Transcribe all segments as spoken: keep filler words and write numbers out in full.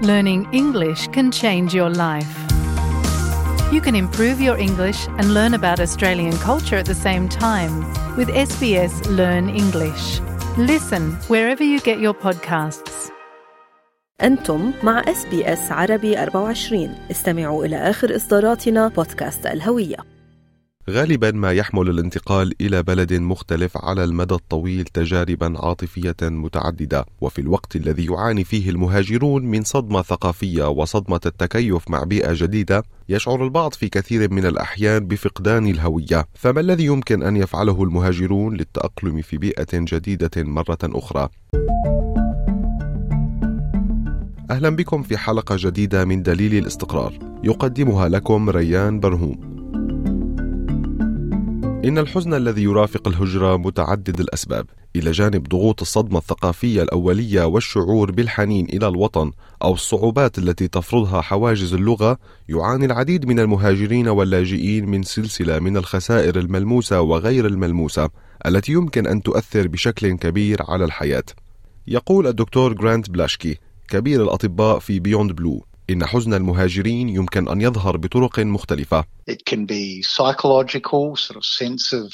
Learning English can change your life. You can improve your English and learn about Australian culture at the same time with S B S Learn English. Listen wherever you get your podcasts. أنتم مع إس بي إس عربي أربعة وعشرين. استمعوا إلى آخر إصداراتنا بودكاست الهوية. غالبا ما يحمل الانتقال إلى بلد مختلف على المدى الطويل تجاربا عاطفية متعددة، وفي الوقت الذي يعاني فيه المهاجرون من صدمة ثقافية وصدمة التكيف مع بيئة جديدة، يشعر البعض في كثير من الأحيان بفقدان الهوية. فما الذي يمكن أن يفعله المهاجرون للتأقلم في بيئة جديدة مرة أخرى؟ أهلا بكم في حلقة جديدة من دليل الاستقرار، يقدمها لكم ريان برهوم. إن الحزن الذي يرافق الهجرة متعدد الأسباب. إلى جانب ضغوط الصدمة الثقافية الأولية والشعور بالحنين إلى الوطن أو الصعوبات التي تفرضها حواجز اللغة، يعاني العديد من المهاجرين واللاجئين من سلسلة من الخسائر الملموسة وغير الملموسة التي يمكن أن تؤثر بشكل كبير على الحياة. يقول الدكتور غرانت بلاشكي كبير الأطباء في بيوند بلو إن حزن المهاجرين يمكن أن يظهر بطرق مختلفة. It can be psychological, sort of sense of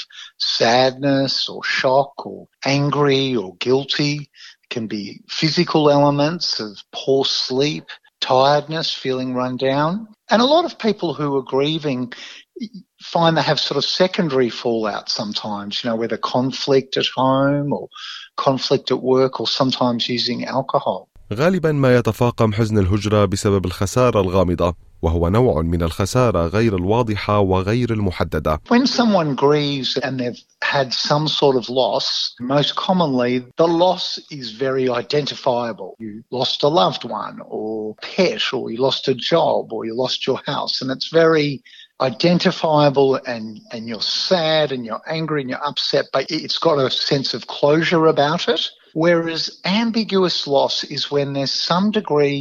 sadness or shock or angry or guilty. It can be physical elements of poor sleep, tiredness, feeling run down. And a lot of people who are grieving find they have sort of secondary fallout sometimes, you know, whether conflict at home or conflict at work or sometimes using alcohol. غالبا ما يتفاقم حزن الهجرة بسبب الخسارة الغامضة، وهو نوع من الخسارة غير الواضحة وغير المحددة. When someone grieves and they've had some sort of loss, most commonly the loss is very identifiable. You lost a loved one or pet, or you lost a job, or you lost your house, and it's very identifiable, and, and you're sad and you're angry and you're upset, but it's got a sense of closure about it. Whereas ambiguous loss is when there's some degree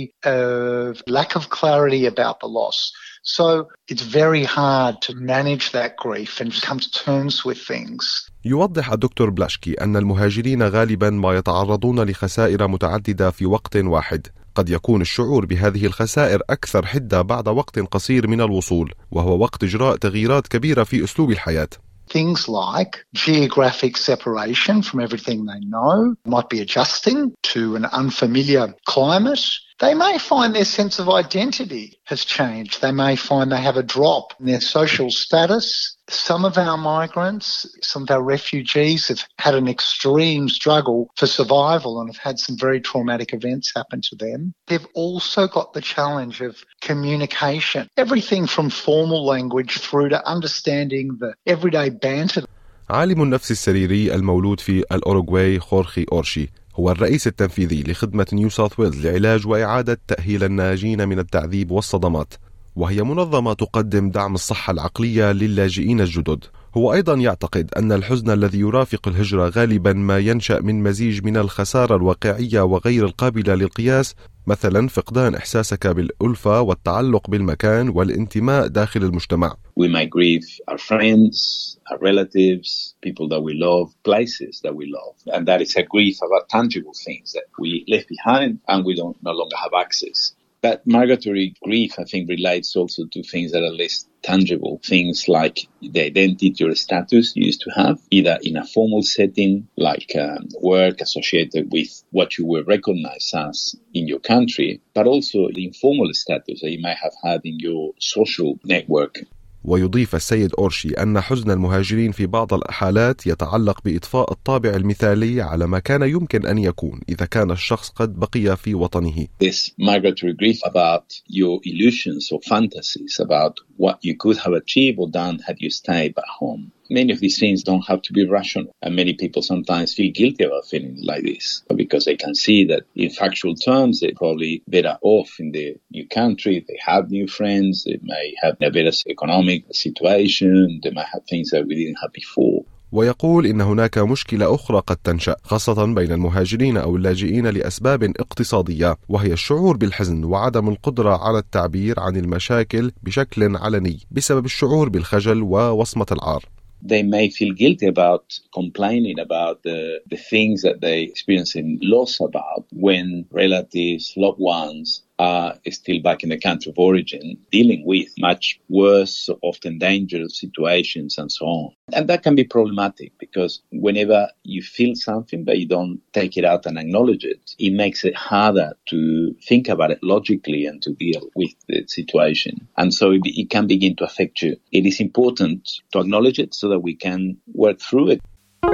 of lack of clarity about the loss. So it's very hard to manage that grief and come to terms with things. يوضح الدكتور بلاشكي أن المهاجرين غالبا ما يتعرضون لخسائر متعددة في وقت واحد. قد يكون الشعور بهذه الخسائر أكثر حدة بعد وقت قصير من الوصول، وهو وقت إجراء تغييرات كبيرة في أسلوب الحياة. Things like geographic separation from everything they know, might be adjusting to an unfamiliar climate. They may find their sense of identity has changed. They may find they have a drop in their social status. Some of our migrants, some of our refugees have had an extreme struggle for survival and have had some very traumatic events happen to them. They've also got the challenge of communication, everything from formal language through to understanding the everyday banter. عالم النفس السريري المولود في الأوروغواي خورخي أورشي هو الرئيس التنفيذي لخدمة نيو ساوث ويلز لعلاج وإعادة تأهيل الناجين من التعذيب والصدمات، وهي منظمة تقدم دعم الصحة العقلية للاجئين الجدد. هو أيضا يعتقد أن الحزن الذي يرافق الهجرة غالبا ما ينشأ من مزيج من الخسارة الواقعية وغير القابلة للقياس، مثلا فقدان إحساسك بالألفة والتعلق بالمكان والانتماء داخل المجتمع. We might grieve our friends, our relatives, people that we love, places that we love. And that is a grief about tangible things that we left behind and we don't no longer have access. That migratory grief, I think, relates also to things that are less tangible, things like the identity or status you used to have, either in a formal setting, like um, work associated with what you were recognized as in your country, but also the informal status that you might have had in your social network. ويضيف السيد أورشي أن حزن المهاجرين في بعض الحالات يتعلق بإطفاء الطابع المثالي على ما كان يمكن أن يكون إذا كان الشخص قد بقي في وطنه. This migratory grief about your illusions or fantasies about what you could have achieved or done had you stayed back home. Many of these things don't have to be rational, and many people sometimes feel guilty about feeling like this because they can see that in factual terms they're probably better off in their new country, they have new friends, they may have a better economic situation, they might have things that we didn't have before. ويقول إن هناك مشكلة أخرى قد تنشأ خاصة بين المهاجرين أو اللاجئين لأسباب اقتصادية، وهي الشعور بالحزن وعدم القدرة على التعبير عن المشاكل بشكل علني بسبب الشعور بالخجل ووصمة العار. They may feel guilty about complaining about the, the things that they experience in loss about when relatives, loved ones are still back in the country of origin, dealing with much worse, often dangerous situations and so on. And that can be problematic because whenever you feel something but you don't take it out and acknowledge it, it makes it harder to think about it logically and to deal with the situation. And so it, it can begin to affect you. It is important to acknowledge it so that we can work through it.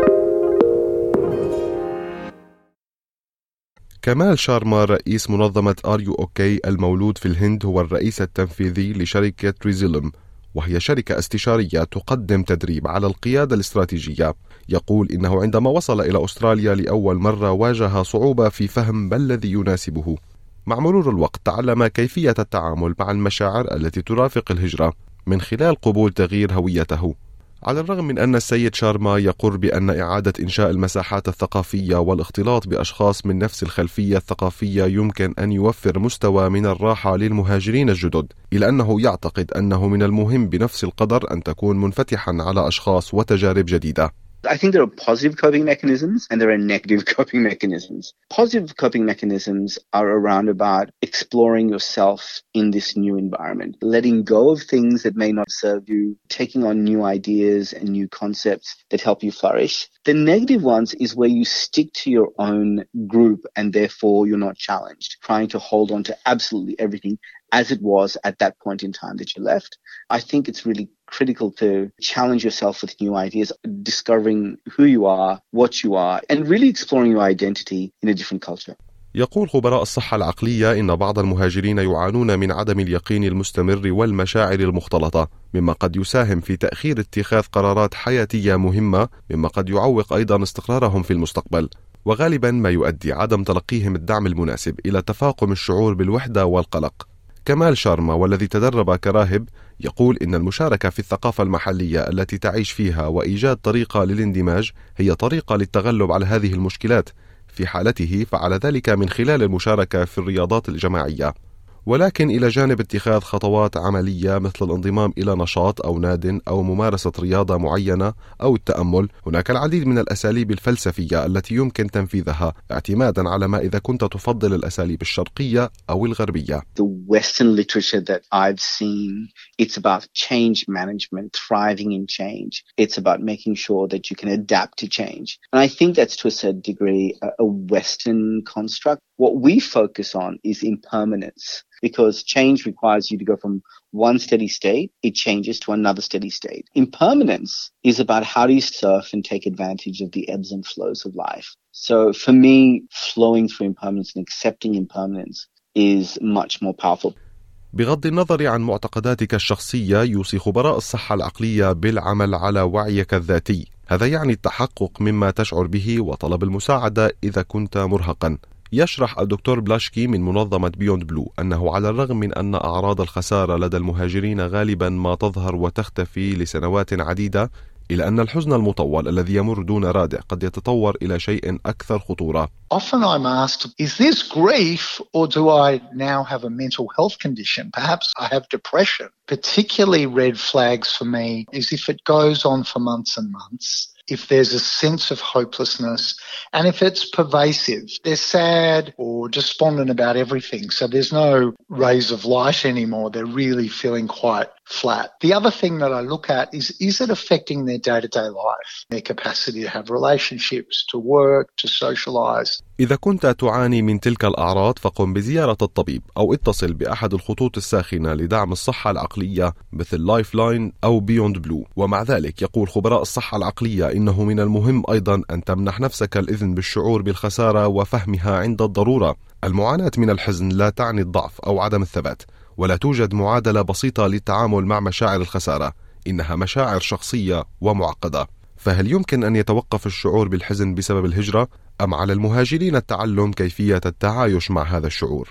كمال شارما رئيس منظمة آر يو أو كي المولود في الهند هو الرئيس التنفيذي لشركة ريزيلم، وهي شركة استشارية تقدم تدريب على القيادة الاستراتيجية. يقول إنه عندما وصل إلى أستراليا لأول مرة واجه صعوبة في فهم ما الذي يناسبه. مع مرور الوقت تعلم كيفية التعامل مع المشاعر التي ترافق الهجرة من خلال قبول تغيير هويته. على الرغم من أن السيد شارما يقر بأن إعادة إنشاء المساحات الثقافية والاختلاط بأشخاص من نفس الخلفية الثقافية يمكن أن يوفر مستوى من الراحة للمهاجرين الجدد، إلا أنه يعتقد أنه من المهم بنفس القدر أن تكون منفتحا على أشخاص وتجارب جديدة. I think there are positive coping mechanisms and there are negative coping mechanisms. Positive coping mechanisms are around about exploring yourself in this new environment, letting go of things that may not serve you, taking on new ideas and new concepts that help you flourish. The negative ones is where you stick to your own group and therefore you're not challenged, trying to hold on to absolutely everything as it was at that point in time that you left. I think it's really critical to challenge yourself with new ideas, discovering who you are, what you are, and really exploring your identity in a different culture. يقول خبراء الصحة العقلية إن بعض المهاجرين يعانون من عدم اليقين المستمر والمشاعر المختلطة، مما قد يساهم في تأخير اتخاذ قرارات حياتية مهمة، مما قد يعوق أيضا استقرارهم في المستقبل، وغالبا ما يؤدي عدم تلقيهم الدعم المناسب إلى تفاقم الشعور بالوحدة والقلق. كمال شارما والذي تدرب كراهب يقول إن المشاركة في الثقافة المحلية التي تعيش فيها وإيجاد طريقة للاندماج هي طريقة للتغلب على هذه المشكلات. في حالته فعل ذلك من خلال المشاركة في الرياضات الجماعية، ولكن إلى جانب اتخاذ خطوات عملية مثل الانضمام إلى نشاط أو ناد أو ممارسة رياضة معينة أو التأمل، هناك العديد من الأساليب الفلسفية التي يمكن تنفيذها اعتمادا على ما إذا كنت تفضل الأساليب الشرقية أو الغربية. The Western literature that I've seen, it's about change management, thriving in change. It's about making sure that you can adapt to change. And I think that's to a certain degree a, a Western construct. What we focus on is impermanence, because change requires you to go from one steady state, it changes to another steady state. Impermanence is about how do you surf and take advantage of the ebbs and flows of life. So for me, flowing through impermanence and accepting impermanence is much more powerful. بغض النظر عن معتقداتك الشخصية، يوصي خبراء الصحة العقلية بالعمل على وعيك الذاتي. هذا يعني التحقق مما تشعر به وطلب المساعدة إذا كنت مرهقا. يشرح الدكتور بلاشكي من منظمة بيوند بلو أنه على الرغم من أن أعراض الخسارة لدى المهاجرين غالبا ما تظهر وتختفي لسنوات عديدة، إلا أن الحزن المطول الذي يمر دون رادع قد يتطور إلى شيء أكثر خطورة. Often I'm asked, is this grief or do I now have a mental health condition? Perhaps I have depression. Particularly red flags for me is if it goes on for months and months, if there's a sense of hopelessness, and if it's pervasive. They're sad or despondent about everything, so there's no rays of light anymore. They're really feeling quite flat. The other thing that I look at is, is it affecting their day-to-day life, their capacity to have relationships, to work, to socialize? إذا كنت تعاني من تلك الأعراض فقم بزيارة الطبيب أو اتصل بأحد الخطوط الساخنة لدعم الصحة العقلية مثل لايف لاين أو بيوند بلو. ومع ذلك يقول خبراء الصحة العقلية إنه من المهم أيضا أن تمنح نفسك الإذن بالشعور بالخسارة وفهمها عند الضرورة. المعاناة من الحزن لا تعني الضعف أو عدم الثبات، ولا توجد معادلة بسيطة للتعامل مع مشاعر الخسارة، إنها مشاعر شخصية ومعقدة. فهل يمكن أن يتوقف الشعور بالحزن بسبب الهجرة، أم على المهاجرين التعلم كيفية التعايش مع هذا الشعور؟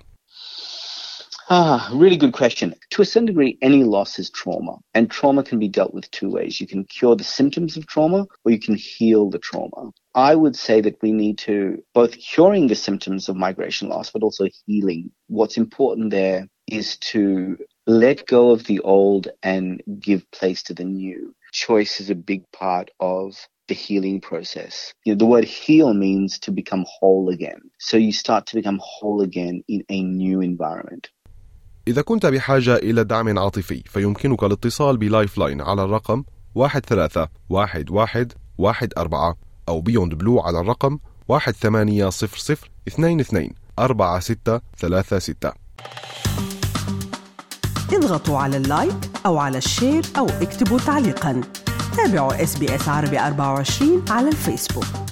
Ah, really good question. To a certain degree, any loss is trauma, and trauma can be dealt with two ways. You can cure the symptoms of trauma, or you can heal the trauma. I would say that we need to both curing the symptoms of migration loss, but also healing. What's important there is to let go of the old and give place to the new. Choice is a big part of the healing process. You know, the word heal means to become whole again. So you start to become whole again in a new environment. إذا كنت بحاجة إلى دعم عاطفي فيمكنك الاتصال بلايف لاين على الرقم واحد ثلاثة واحد واحد واحد أربعة أو بيوند بلو على الرقم واحد ثمانية صفر صفر اثنين اثنين أربعة ستة ثلاثة ستة. اضغطوا على اللايك أو على الشير أو اكتبوا تعليقاً. تابعوا إس بي إس عربي أربعة وعشرين على الفيسبوك.